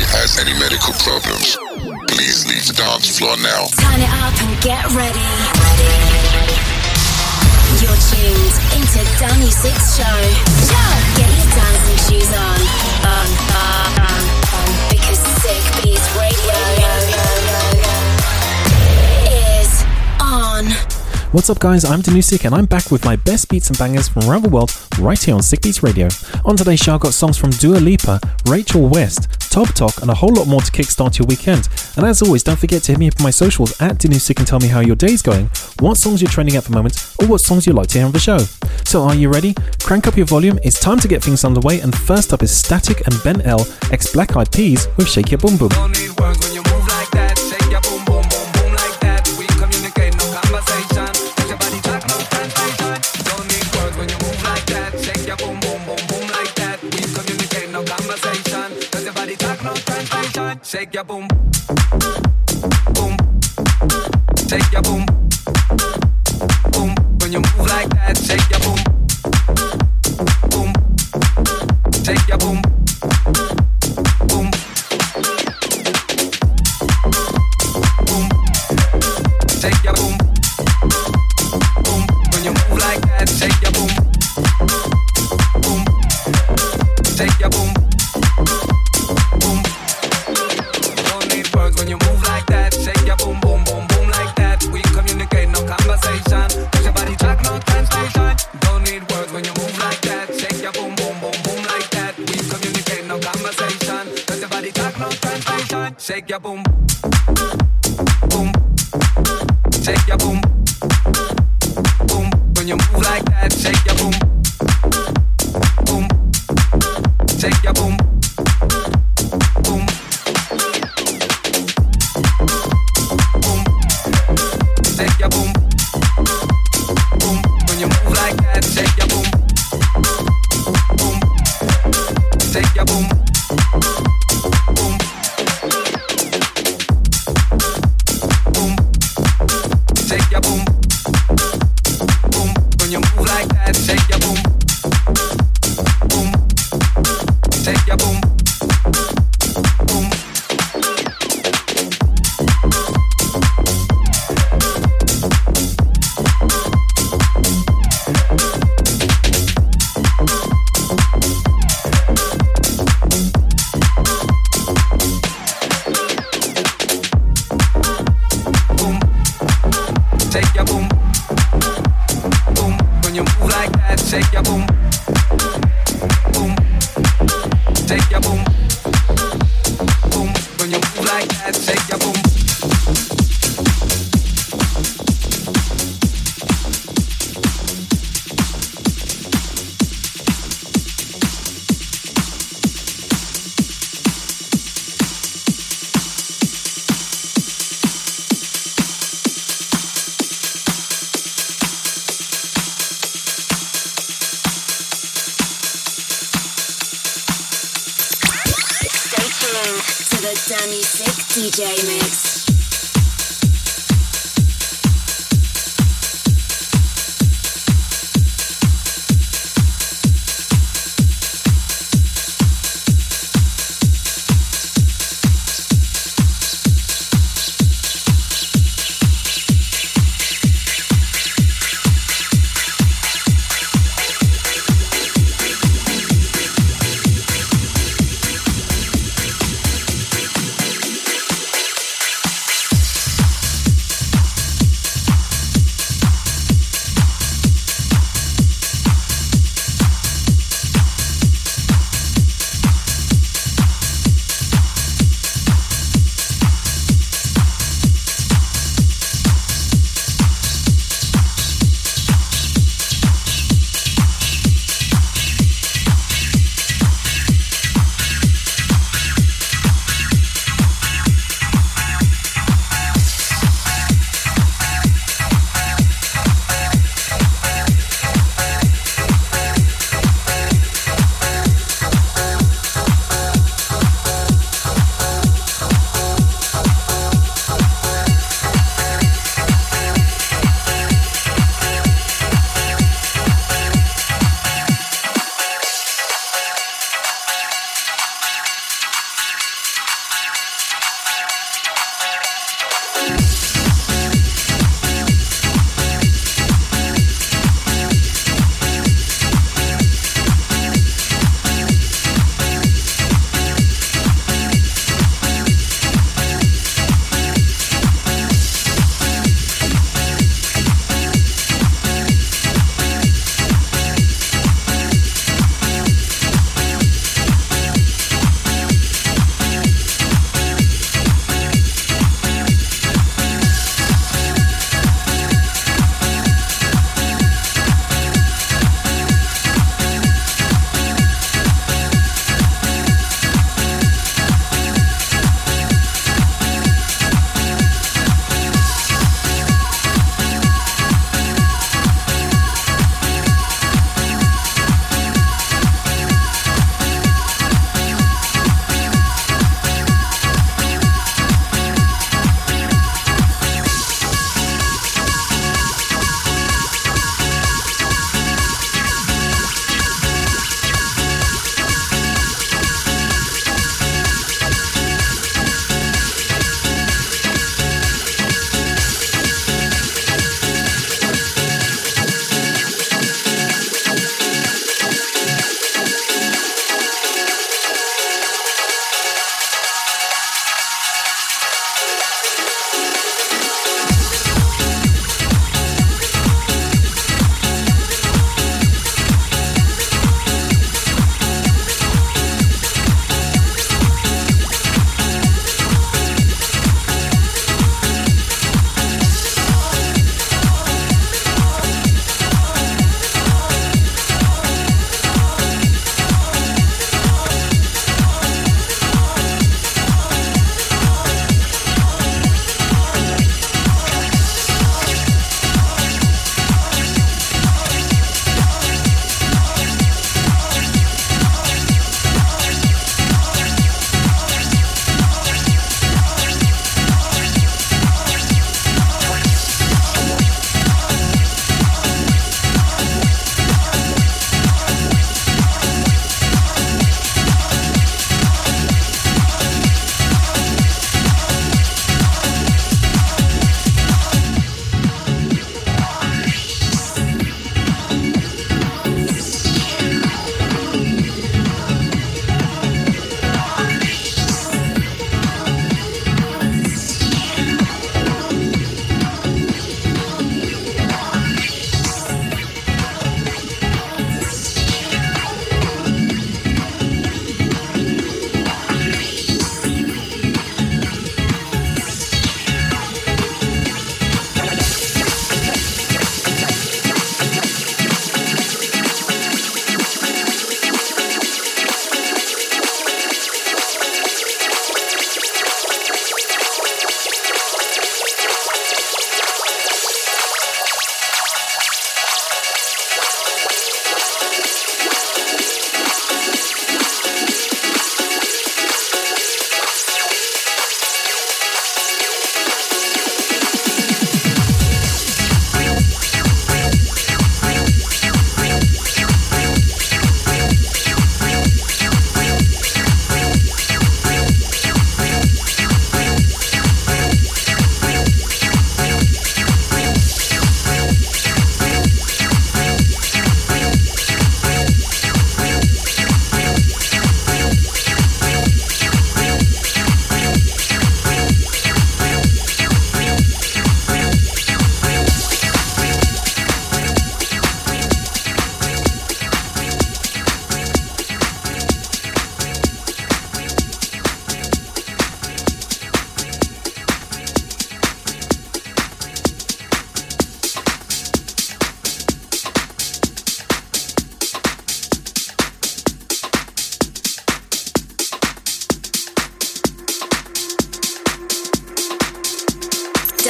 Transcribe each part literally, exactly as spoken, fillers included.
has any medical problems, please leave the dance floor now. Turn it up and get ready. Ready. You're tuned into Danny Six Show. Get your dancing shoes on. On, on, on, on. Because Sick Beats Radio is on. What's up guys, I'm Danusik and I'm back with my best beats and bangers from around the world right here on Sick Beats Radio. On today's show I've got songs from Dua Lipa, Rachel West, Top Talk and a whole lot more to kickstart your weekend. And as always, don't forget to hit me up on my socials at Danusik and tell me how your day's going, what songs you're trending at the moment, or what songs you'd like to hear on the show. So are you ready? Crank up your volume, it's time to get things underway, and first up is Static and Ben L, ex Black Eyed Peas with Shake Your Boom Boom. Don't need words when you move like that. Shake your boom boom boom boom like that. We communicate, no conversation. Cause your body talk, no translation. Don't need words when you move like that. Shake your boom boom boom boom like that. We communicate, no conversation. Cause your body talk, no translation. Shake your boom boom. Shake your boom boom. When you move like that, shake your boom boom. Shake your boom boom. Shake your boom, boom. When you move like that, shake your boom, boom. Shake your boom, boom. Don't need words when you move like that. Shake your boom, boom, boom, boom like that. We communicate, no conversation. Cause your body track, no translation. Don't need words when you move like that. Shake your boom, boom, boom, boom like that. We communicate, no conversation. Cause your body track, no translation. Shake your boom, boom. Shake your boom, boom. When you move like that, shake your boom, boom. Shake your boom, boom, boom. Shake your boom, boom. When you move like that, shake your boom, boom. Shake your boom, boom. Shake your boom, boom. When you move like that, shake your boom, boom. Shake your boom, boom. Shake your boom, boom. When you move like that, shake your boom, boom. Shake your boom, boom. When you move like that, shake your boom. To the Danny Sick D J Mix.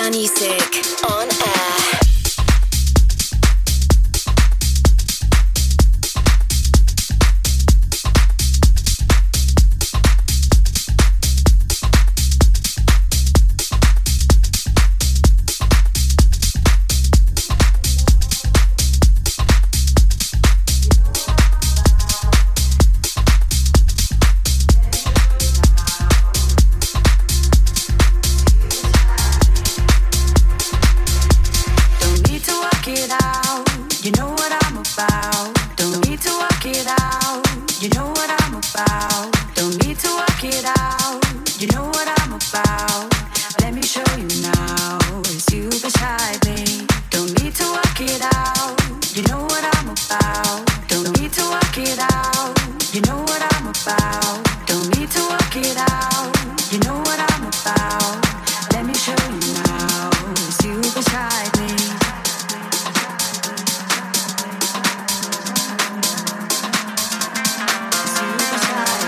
Danny Sick on air. Beside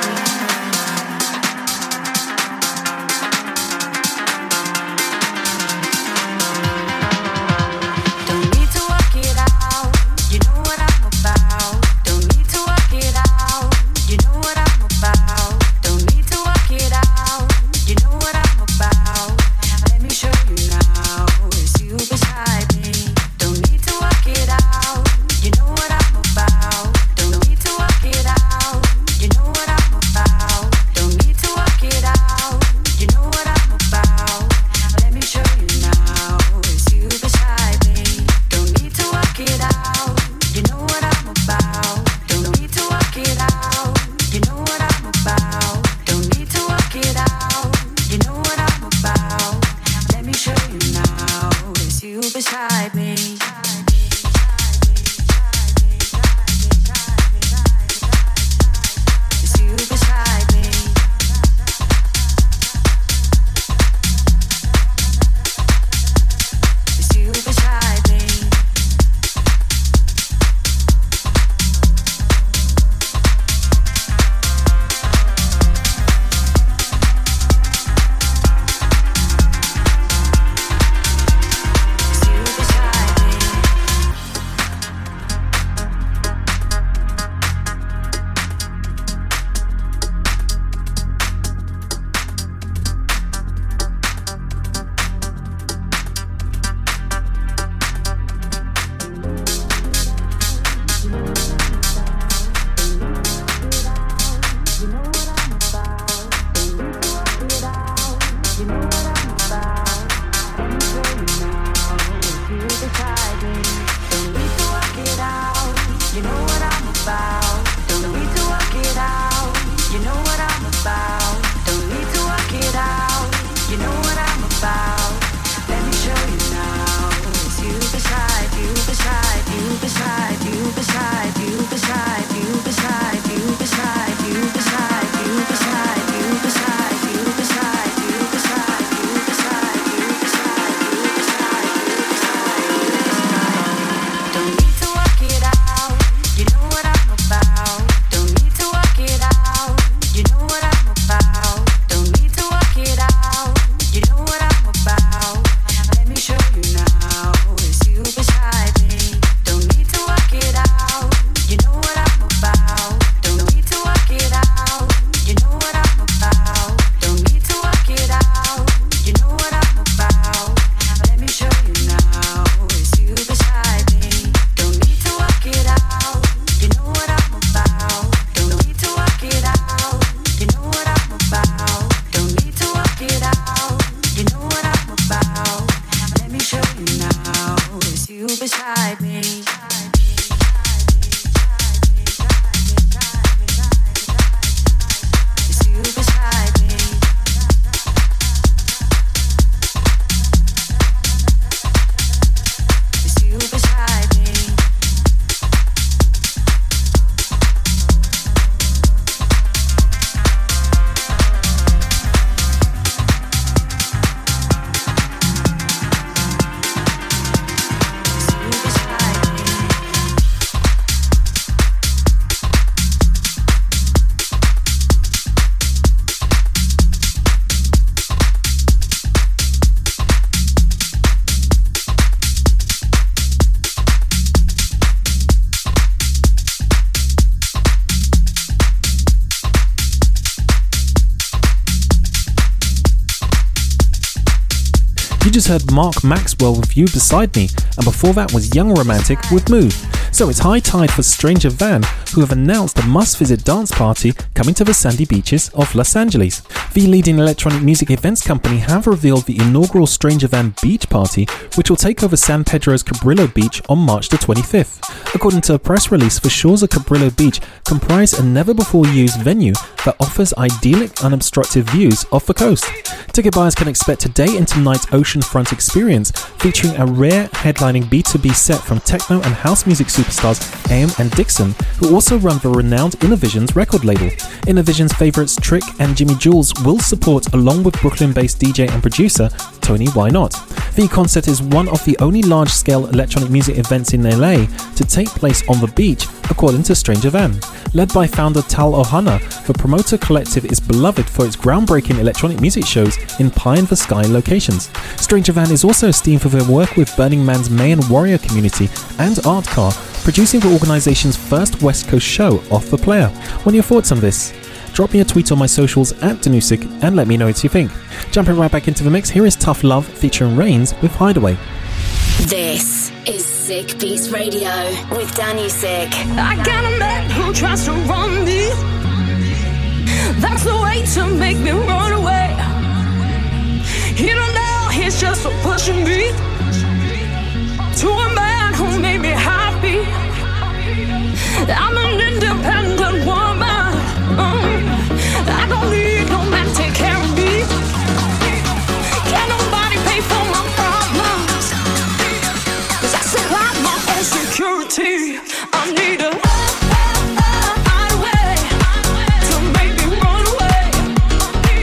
You just heard Mark Maxwell with You Beside Me, and before that was Young Romantic with Move. So it's high tide for Stranger Van, who have announced a must-visit dance party coming to the sandy beaches of Los Angeles. The leading electronic music events company have revealed the inaugural Stranger Van Beach Party, which will take over San Pedro's Cabrillo Beach on March the twenty-fifth. According to a press release, the shores of Cabrillo Beach comprise a never-before-used venue that offers idyllic, unobstructed views off the coast. Ticket buyers can expect a day and night oceanfront experience featuring a rare headlining B two B set from techno and house music superstars A M and Dixon, who also run the renowned Innovisions record label. Innovisions favourites Trick and Jimmy Jules will support, along with Brooklyn-based D J and producer Tony Why Not. The concert is one of the only large-scale electronic music events in L A to take place on the beach, according to Stranger Van. Led by founder Tal Ohana, the promoter collective is beloved for its groundbreaking electronic music shows in pie-in-the-sky locations. Stranger Van is also esteemed for their work with Burning Man's Mayan Warrior community and Artcar, producing the organisation's first West Coast show, Off the Player. What are your thoughts on this? Drop me a tweet on my socials at Danusik and let me know what you think. Jumping right back into the mix, here is Tough Love featuring Reigns with Hideaway. This is Sick Beats Radio with Danusik. I got a man who tries to run me. That's the way to make me run away. He don't know he's just pushing me to a man who made me happy. I'm an independent woman. Mm. I don't need no man to take care of me. Can't nobody pay for my problems, 'cause I supply my own security. I need a hideaway to make me run away.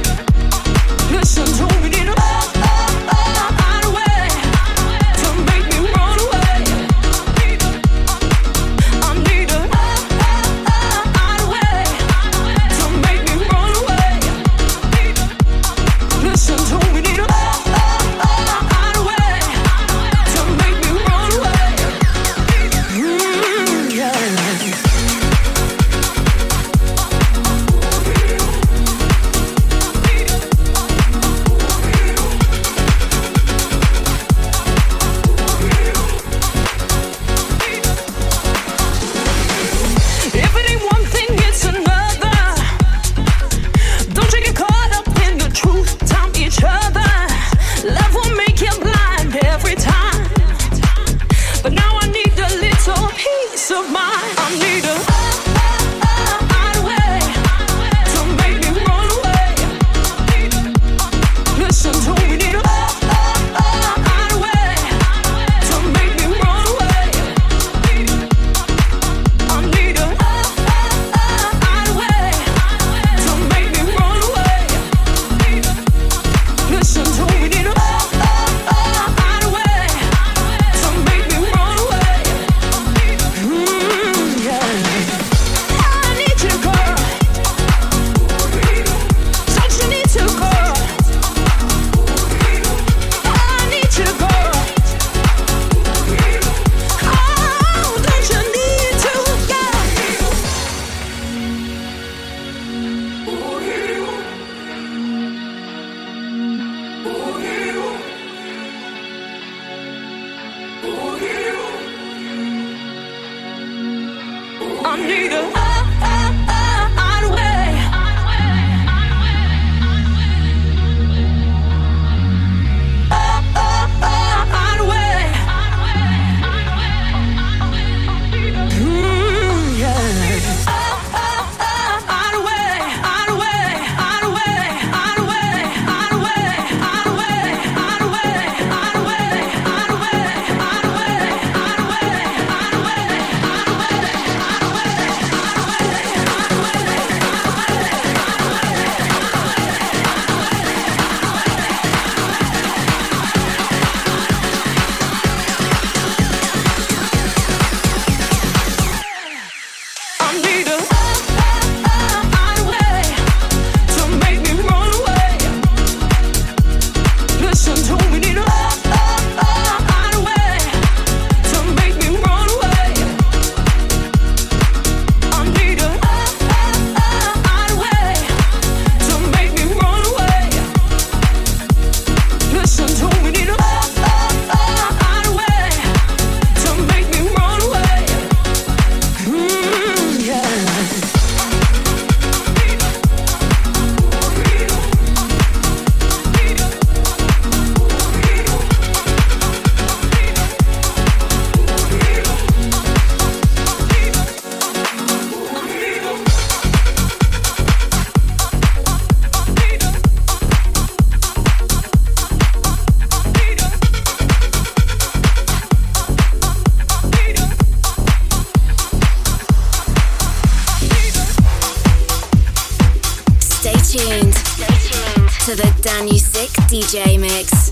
tuned. Stay tuned to the Danusik D J mix.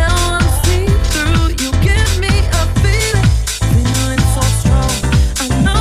I know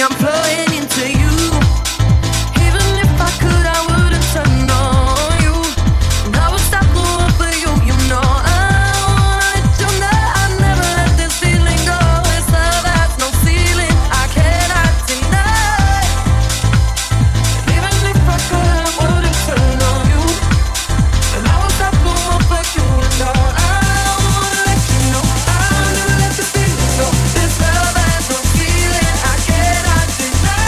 I'm flowing into you. Even if I could, I wouldn't turn on you. And I would stop the world for you, you know. I wanna let you know I never let this feeling go. It's love has no ceiling, I cannot deny. And even if I could, I wouldn't turn on you. And I would stop the world for you, you know. I wanna let you know I'll never let this feeling go. This love has no ceiling, I cannot deny.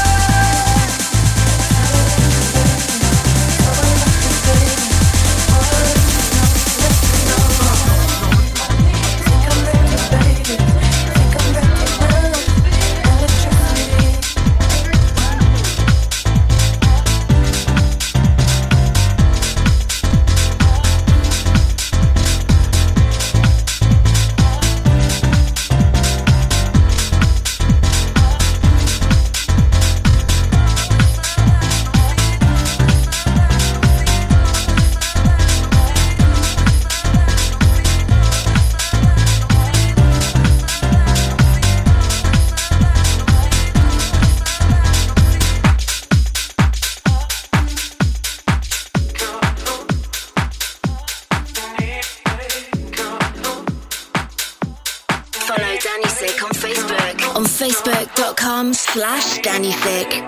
Follow Danny Sick on Facebook on facebook.com slash Danny Sick.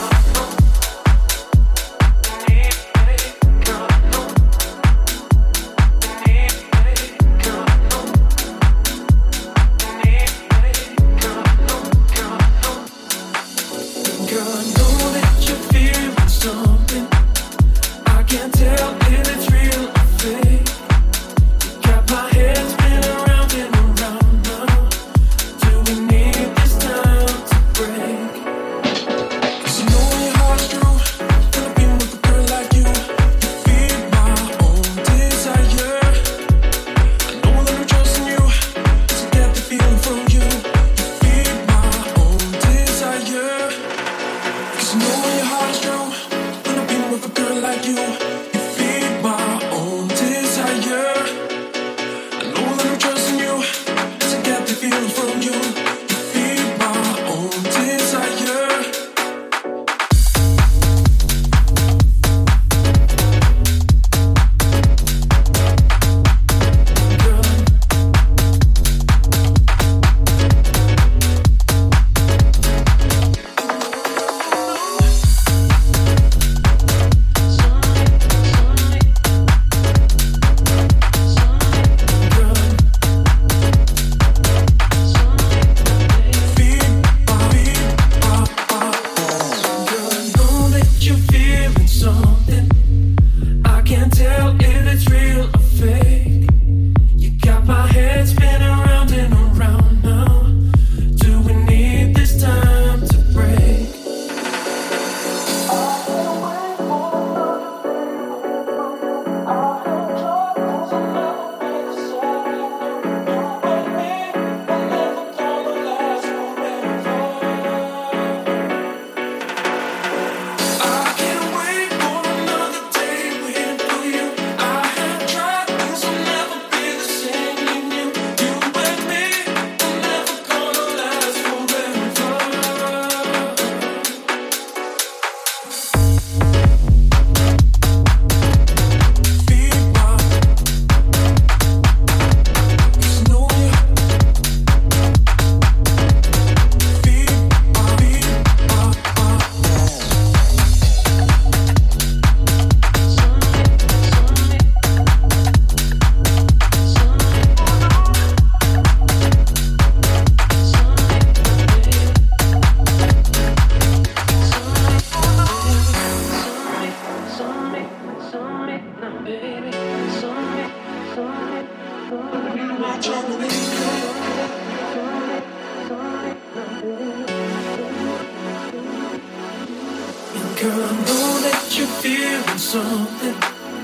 Girl, I know that you're feeling something.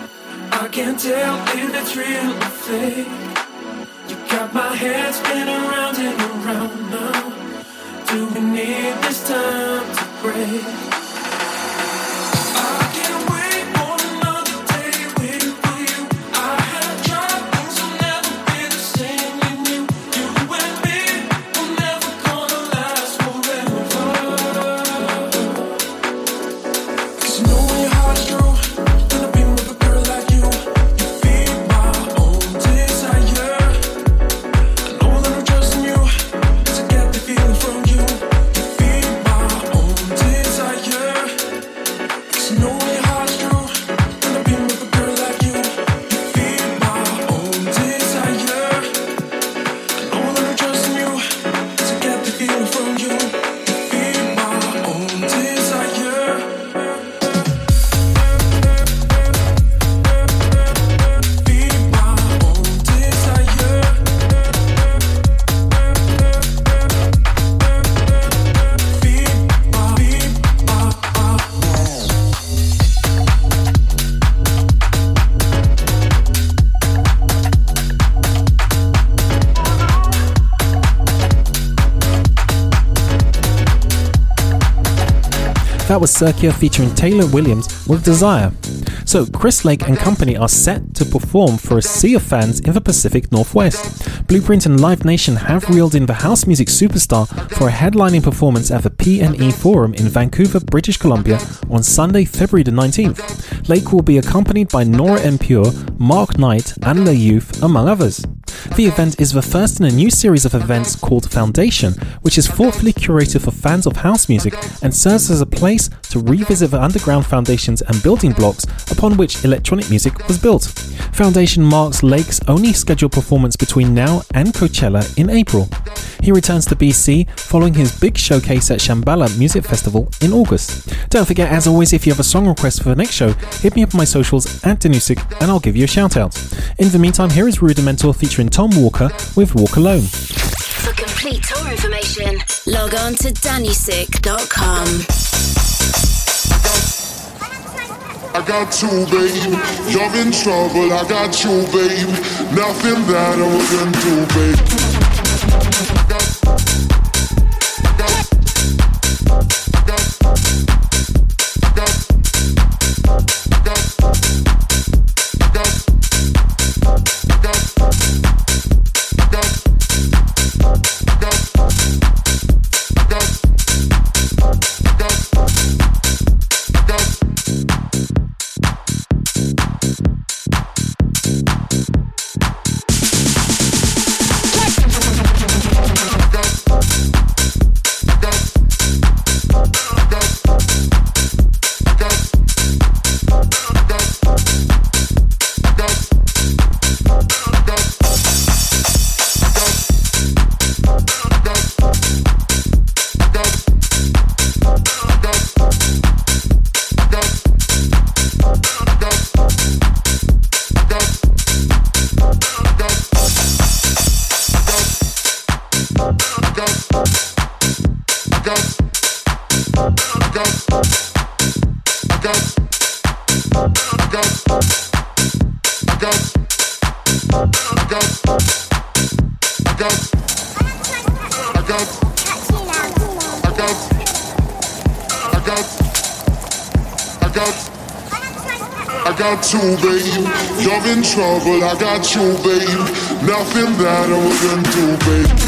I can't tell if it's real or fake. You got my head spinning around and around now. Do we need this time to break? Forever. That was Circia featuring Taylor Williams with Desire. So Chris Lake and company are set to perform for a sea of fans in the Pacific Northwest. Blueprint and Live Nation have reeled in the house music superstar for a headlining performance at the P and E Forum in Vancouver, British Columbia on Sunday, February the nineteenth. Lake will be accompanied by Nora En Pure, Mark Knight and Le Youth, among others. The event is the first in a new series of events called Foundation, which is thoughtfully curated for fans of house music and serves as a place to revisit the underground foundations and building blocks upon which electronic music was built. Foundation marks Lake's only scheduled performance between now and Coachella in April. He returns to B C following his big showcase at Shambhala Music Festival in August. Don't forget, as always, if you have a song request for the next show, hit me up on my socials at Danusik and I'll give you a shout out. In the meantime, here is Rudimental featuring Tom Walker with Walk Alone. For complete tour information, log on to danusik dot com. I got you, babe. You're in trouble. I got you, babe. Nothing that I wouldn't do, babe. You, babe. You're in trouble. I got you, babe. Nothing that I wouldn't do, babe.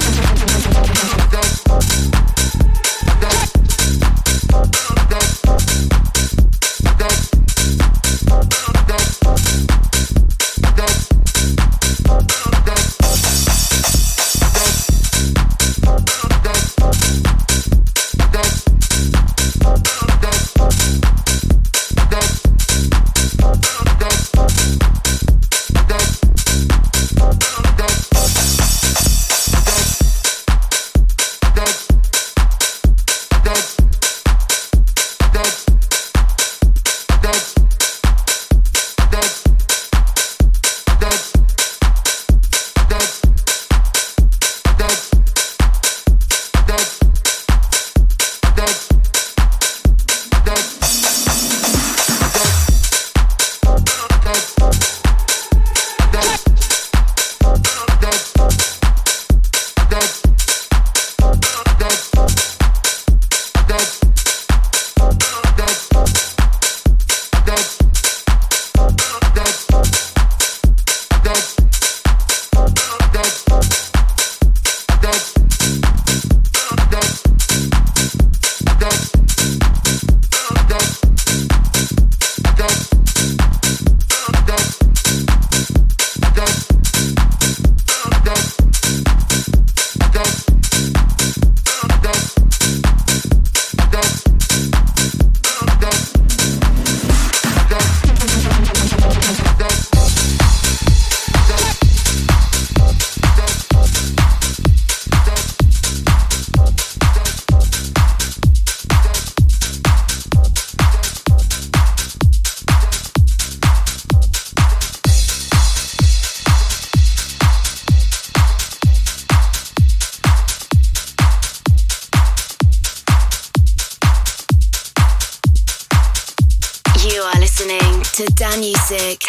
to Danusik.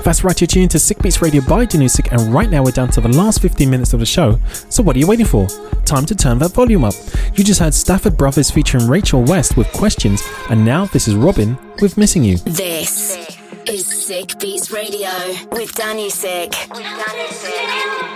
That's right, you're tuned to Sick Beats Radio by Danusik, and right now we're down to the last fifteen minutes of the show. So what are you waiting for? Time to turn that volume up. You just heard Stafford Brothers featuring Rachel West with Questions, and now this is Robin with Missing You. This is Sick Beats Radio with Danusik. With Danusik.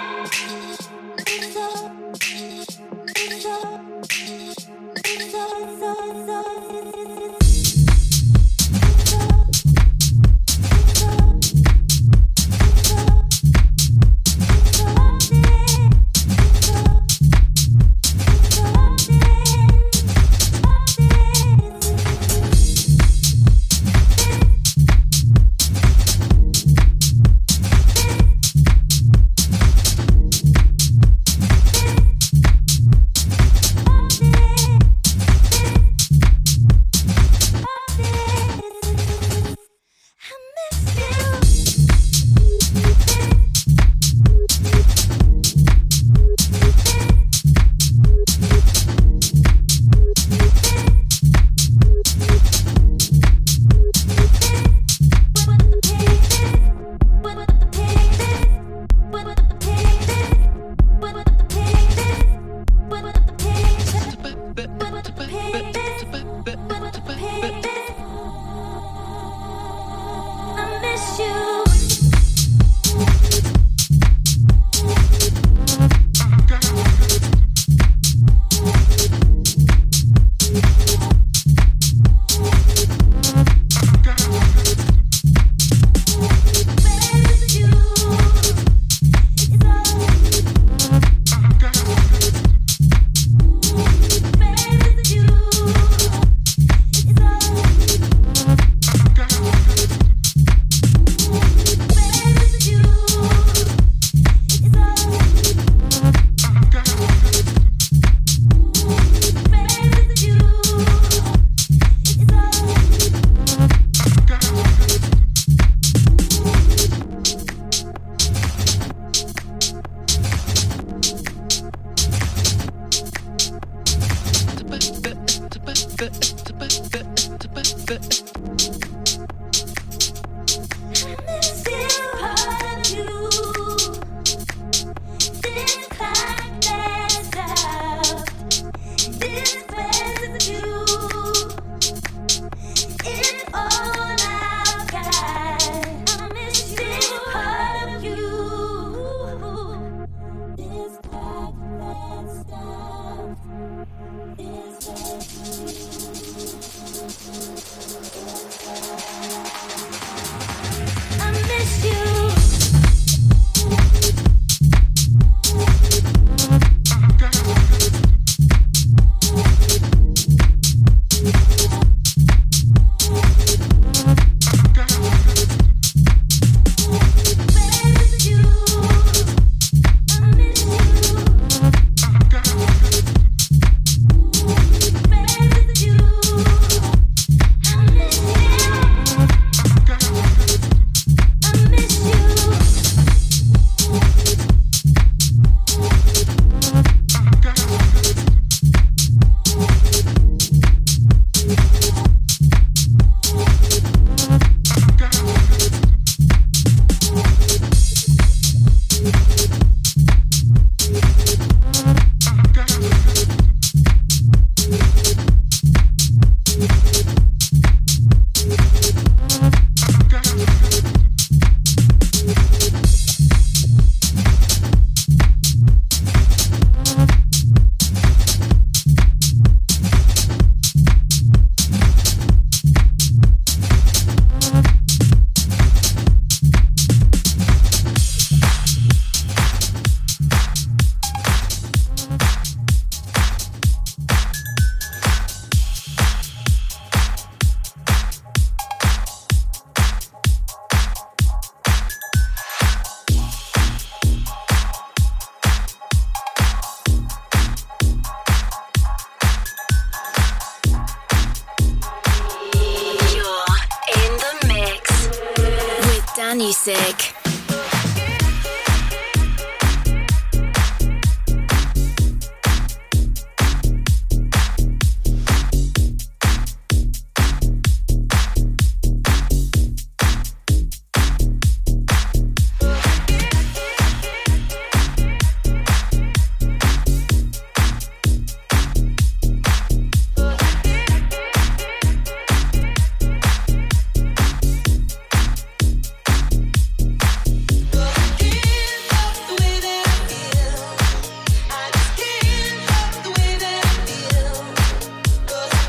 Danusik.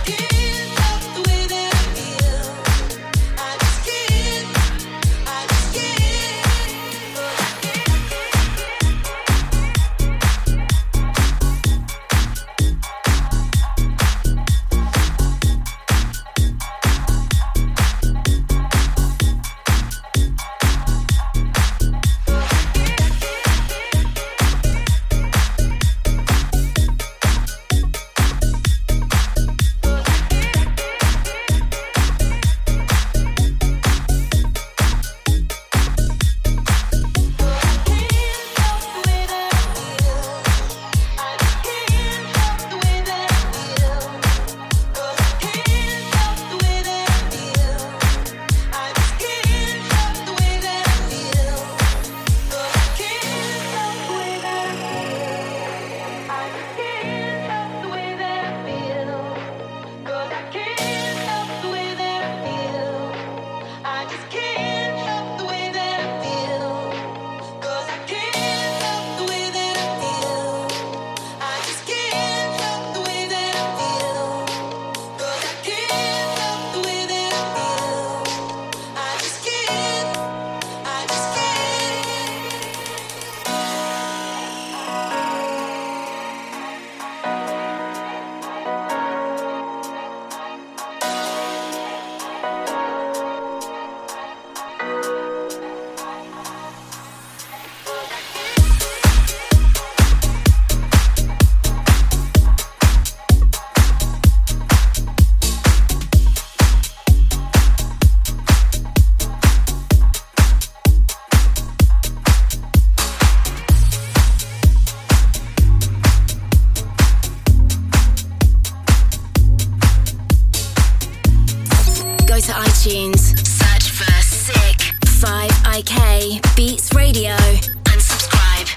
iTunes, search for Sick five I K Beats Radio and subscribe.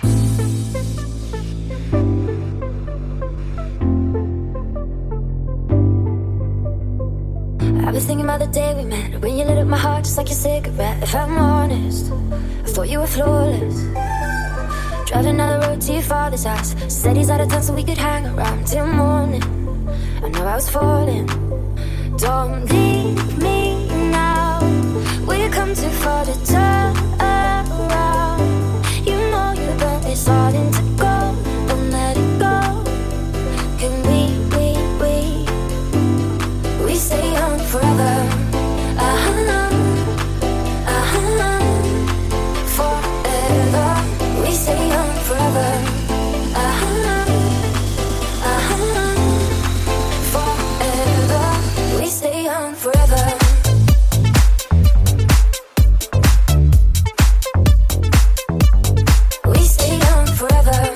I've been thinking about the day we met, when you lit up my heart just like a cigarette. If I'm honest, I thought you were flawless. Driving down the road to your father's house, said he's out of town so we could hang around till morning. I know I was falling. Don't leave me now, we've come too far to turn around. You know you burnt me starting to go, don't let it go. Can we, we, we, we stay on forever? Uh-huh, uh-huh, forever. We stay on forever. Uh-huh, uh-huh, forever. We stay on forever. We stay on forever.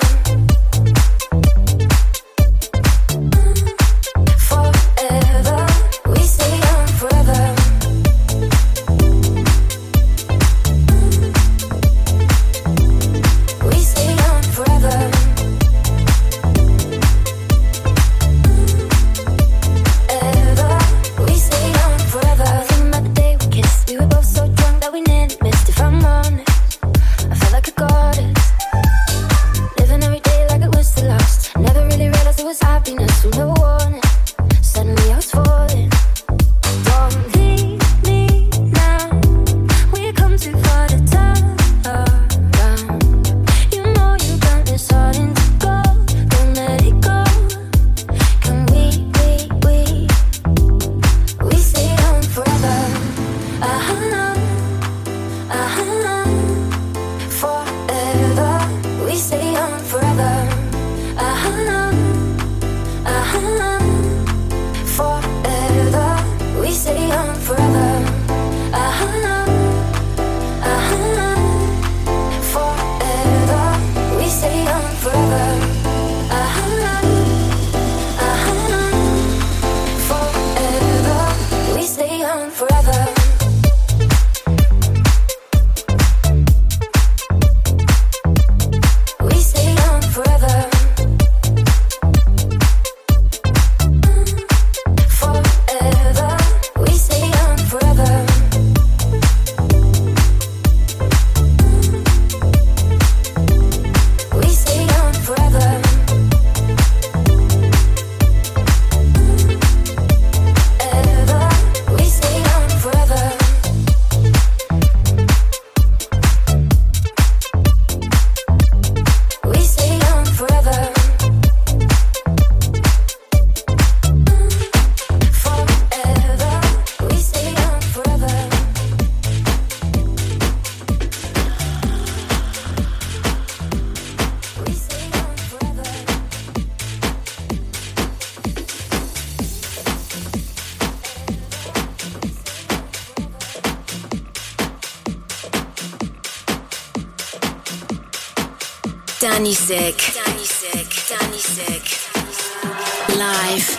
Forever. We stay on forever. Danny Sick. Danny Sick. Danny Sick. Live.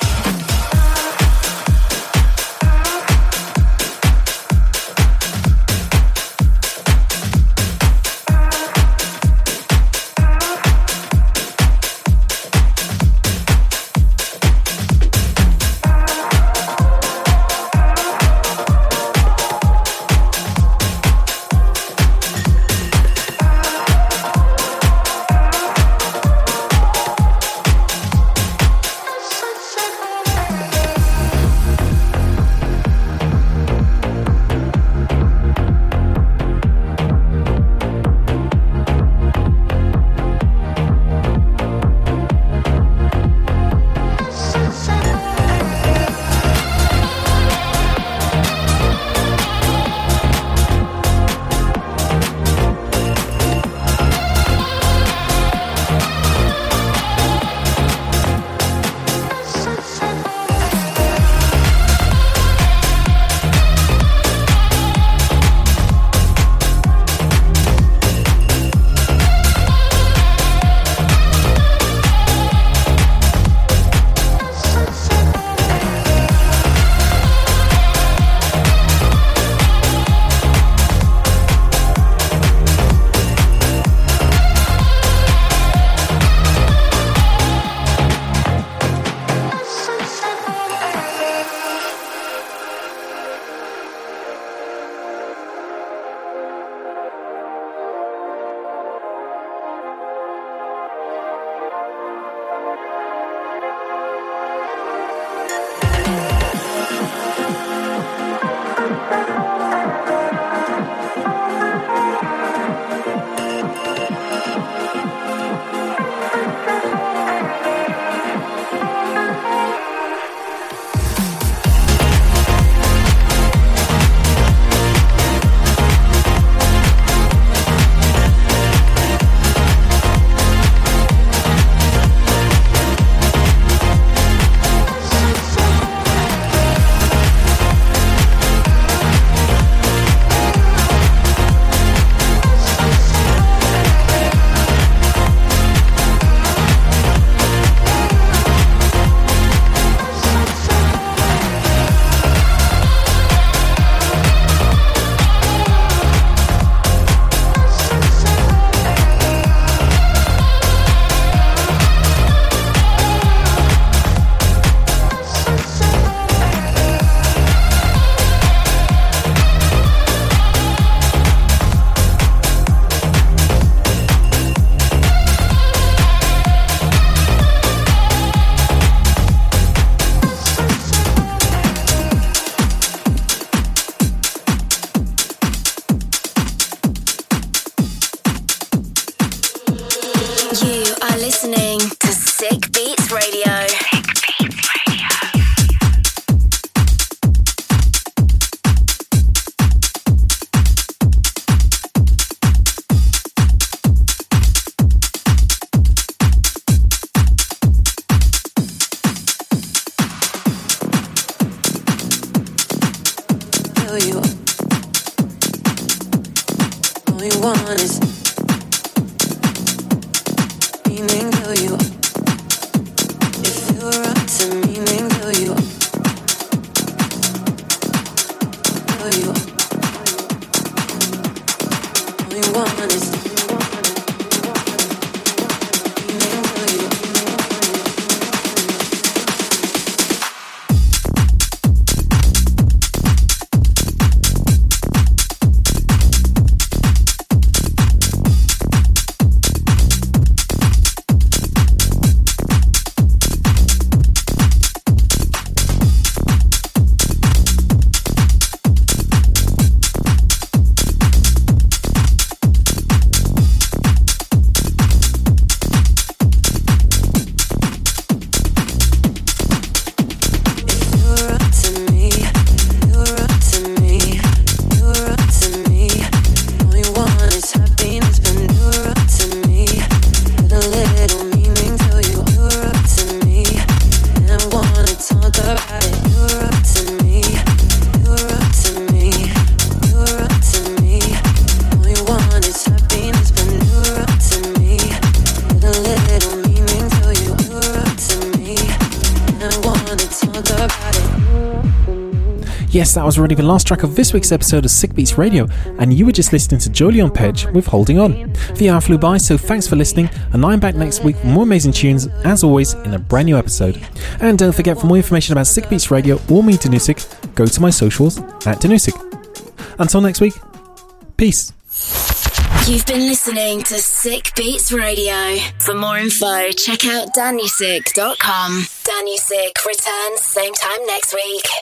Yes, that was already the last track of this week's episode of Sick Beats Radio, and you were just listening to Jolyon Pedge with Holding On. The hour flew by, so thanks for listening, and I'm back next week with more amazing tunes, as always, in a brand new episode. And don't forget, for more information about Sick Beats Radio or me, Danusik, go to my socials at Danusik. Until next week, peace. You've been listening to Sick Beats Radio. For more info, check out danusik dot com. Danusik returns same time next week.